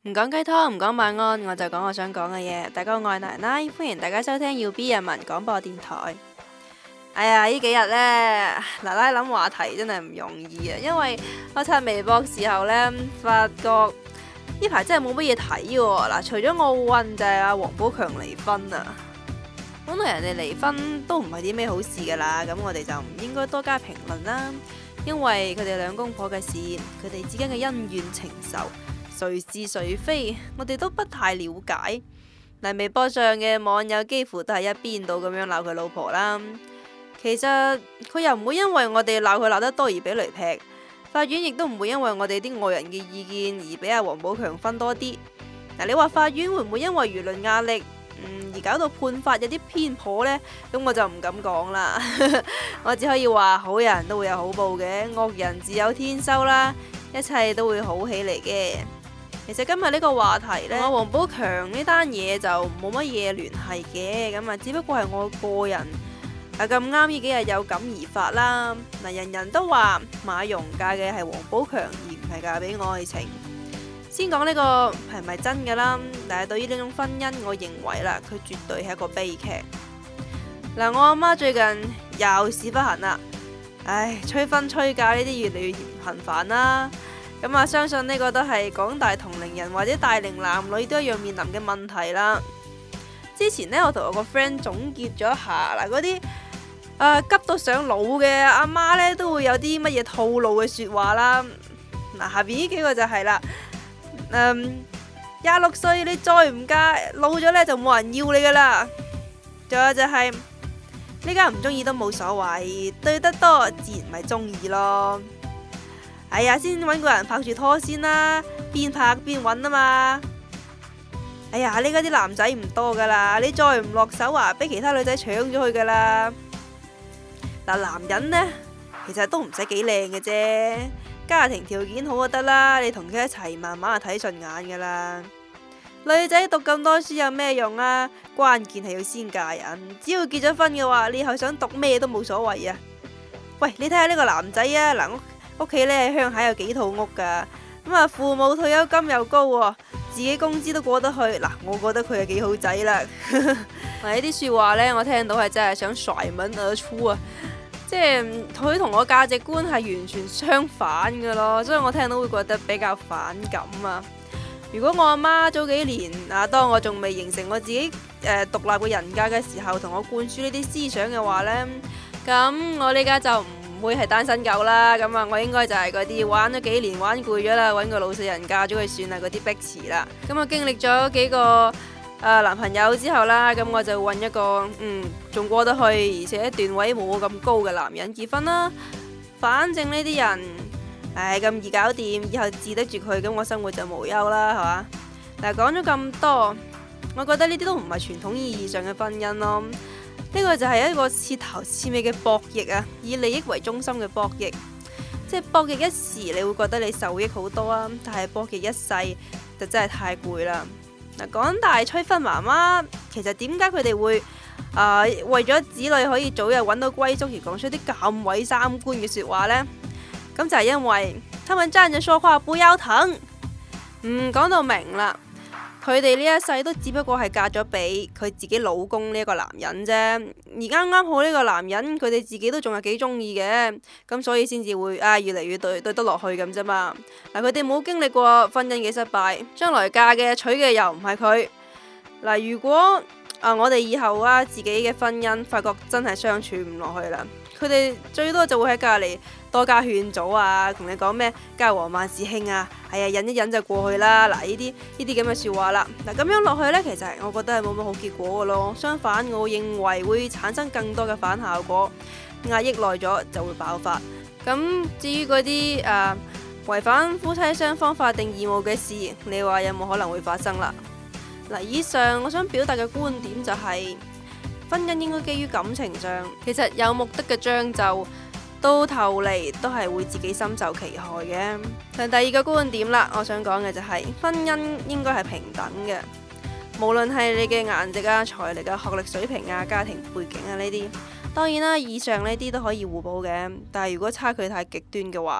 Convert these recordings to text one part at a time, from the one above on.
唔講雞湯，唔講晚安，我就講我想講嘅嘢。大家好，我係奶奶，歡迎大家收聽要 B 人民廣播電台。哎呀，呢幾日呢，奶奶諗話題真係唔容易啊，因為我刷微博時候呢，發覺呢排真係冇乜嘢睇喎。嗱，除咗奧運就係阿王寶強離婚啊。本來人哋離婚都唔係啲咩好事噶啦，咁我哋就唔應該多加評論啦，因為佢哋兩公婆嘅事，佢哋之間嘅恩怨情仇，誰是誰非，我哋都不太了解。嗱，微博上嘅網友幾乎都係一邊倒咁樣鬧佢老婆啦。其實佢又唔會因為我哋鬧佢鬧得多而俾雷劈，法院亦都唔會因為我哋啲外人嘅意見而俾阿王寶強分多啲。嗱，你話法院會唔會因為輿論壓力而搞到判法有啲偏頗呢？咁我就唔敢講啦。我只可以話好人都會有好報嘅，惡人自有天收啦，一切都會好起嚟嘅。其實今日呢個話題呢，我王寶強呢單嘢就冇乜嘢聯繫嘅，咁啊只不過係我個人咁啱呢幾日有感而發啦。嗱，人人都話馬蓉嫁嘅係王寶強而唔係嫁俾愛情。先講呢個係咪真㗎啦？但係對於呢種婚姻，我認為啦，佢絕對係一個悲劇。嗱，我阿媽最近又屎忽痕啦，唉，催婚催嫁呢啲越嚟越頻繁啦。咁啊，相信呢個都係廣大同齡人或者大齡男女都一樣面臨嘅問題啦。之前呢，我同我個 friend 總結咗一下嗱，嗰啲急到上腦嘅阿媽呢，都會有啲乜嘢套路嘅說話啦。嗱，下邊呢幾個就係啦。26歲你再唔嫁，老咗呢就冇人要你噶啦。仲有就係呢家唔中意都冇所謂，對得多自然咪中意咯。哎呀，先搵個人拍住拖先啦，邊拍邊搵啊嘛。哎呀，呢家啲男仔唔多噶啦，你再唔落手啊，俾其他女仔搶咗佢噶啦。嗱，男人呢，其實都唔使幾靚嘅啫。家庭條件好就得啦，你同佢一齊慢慢就睇順眼噶啦。女仔讀咁多書有咩用啊？關鍵係要先嫁人，只要結咗婚嘅話，你以後想讀咩都冇所謂啊。喂，你睇下呢個男仔啊，嗱，屋企呢喺鄉下有幾套屋噶，咁啊父母退休金又高喎，自己工資都過得去。嗱，我覺得佢係幾好仔啦。嗱，呢啲說話呢，我聽到係真係想甩門而出啊！即係佢同我價值觀係完全相反嘅咯，所以我聽到會覺得比較反感啊。如果我阿媽早幾年當我仲未形成我自己獨立嘅人格嘅時候，同我灌輸呢啲思想嘅話呢，咁我呢家就唔會係單身狗啦。咁啊，我應該就係嗰啲玩咗幾年玩攰咗啦，揾個老實人嫁咗佢算啦，嗰啲逼詞啦。咁啊，經歷咗幾個男朋友之後啦，咁我就揾一個仲過得去，而且段位冇我咁高嘅男人結婚啦。反正呢啲人咁易搞掂，以後治得住佢，咁我生活就無憂啦，係嘛？但係講咗咁多，我覺得呢啲都唔係傳統意義上嘅婚姻咯。呢個就係一個徹頭徹尾嘅博弈啊，以利益為中心嘅博弈。即係博弈一時，你會覺得你受益好多啊，但係博弈一世就真係太攰啦。嗱，廣大催婚媽媽，其實點解佢哋會為咗子女可以早日揾到歸宿而講出啲咁毀三觀嘅說話呢？咁就係因為他們站着說話不腰疼。講到明啦，佢哋呢一世都只不過係嫁咗俾佢自己老公呢一個男人啫。而啱啱好呢個男人，佢哋自己都仲係幾中意嘅，咁所以先至會越嚟越對得落去咁啫嘛。嗱，佢哋冇經歷過婚姻嘅失敗，將來嫁嘅娶嘅又唔係佢。嗱，如果我哋以後自己嘅婚姻發覺真係相處唔落去啦，佢哋最多就會喺隔籬多加勸阻啊，同你講咩家和萬事興啊，係啊，忍一忍就過去啦。嗱，呢啲咁嘅說話啦，嗱，咁樣落去呢，其實我覺得係冇乜好結果嘅咯。相反，我認為會產生更多嘅反效果，壓抑耐咗就會爆發。咁至於嗰啲違反夫妻雙方法定義務嘅事，你話有冇可能會發生啦？嗱，以上我想表達嘅觀點就係，婚姻應該基於感情上，其實有目的嘅將就，到頭嚟都係會自己深受其害嘅。但第二個觀點啦，我想講嘅就係，婚姻應該係平等嘅，無論係你嘅顏值啊、財力啊、學歷水平啊、家庭背景啊呢啲，當然啦，以上呢啲都可以互補嘅。但係如果差距太極端嘅話，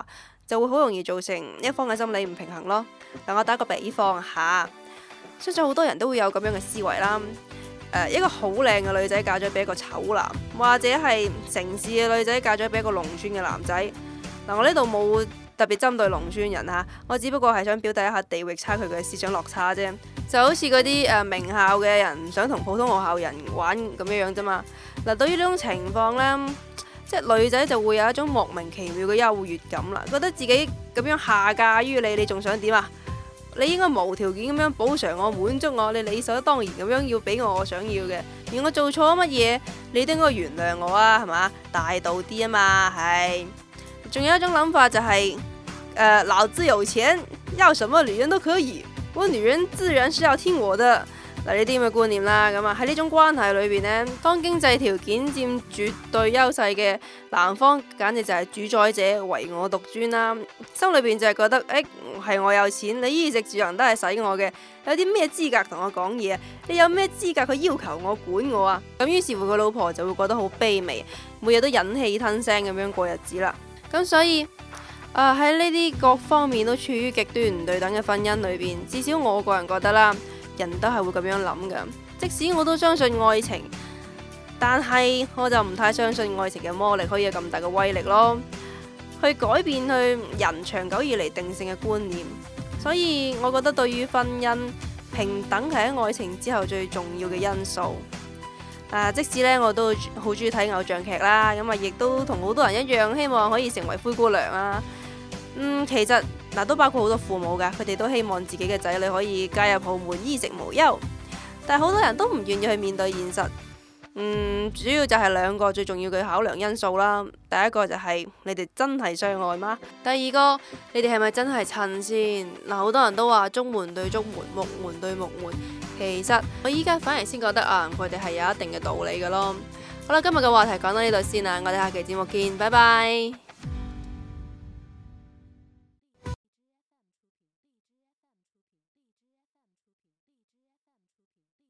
就會好容易造成一方嘅心理唔平衡咯。嗱，我打個比方下，相信好多人都會有咁樣嘅思維啦。一個好靚嘅女仔嫁咗俾一個醜男，或者係城市嘅女仔嫁咗俾一個農村嘅男仔。嗱，我呢度冇特別針對農村人吓，我只不過係想表達一下地域差距嘅思想落差啫。就好似嗰啲名校嘅人唔想同普通學校人玩咁樣樣啫嘛。嗱，對於呢種情況呢，即係女仔就會有一種莫名其妙嘅優越感啦，覺得自己咁樣下嫁於你，你仲想點啊？你應該無條件咁樣補償我、滿足我，你理所當然咁樣要俾我想要嘅。而我做錯乜嘢，你都應該原諒我啊，係嘛？大度啲啊嘛，係。仲有一種諗法就係老子有錢，要什麼女人都可以，我女人自然是要聽我的。嗱，呢啲咁嘅觀念啦，咁啊喺呢種關係裏邊呢，當經濟條件佔絕對優勢嘅男方，簡直就係主宰者，唯我獨尊啦。心裏邊就係覺得，係我有錢，你衣食住行都係使我嘅，有啲咩資格同我講嘢啊？你有咩資格去要求我管我啊？咁於是乎佢老婆就會覺得好卑微，每日都忍氣吞聲咁樣過日子啦。咁所以喺呢啲各方面都處於極端唔對等嘅婚姻裏邊，至少我個人覺得啦。人都係會咁樣諗㗎，即使我都相信愛情，但係我就唔太相信愛情嘅魔力可以有咁大嘅威力咯，去改變去人長久以嚟定性嘅觀念。所以我覺得對於婚姻，平等係喺愛情之後最重要嘅因素。即使呢，我都好中意睇偶像劇啦，咁啊亦都同好多人一樣，希望可以成為灰姑娘啊。其實都包括好多父母噶，佢哋都希望自己嘅仔女可以嫁入豪門，衣食無憂。但係好多人都唔願意去面對現實。主要就係兩個最重要嘅考量因素啦。第一個就係你哋真係相愛嗎？第二個，你哋係咪真係襯先？好多人都話中門對中門，木門對木門。其實我依家反而先覺得佢哋係有一定嘅道理嘅咯。好啦，今日嘅話題講到呢度先啦，我哋下期節目見，拜拜。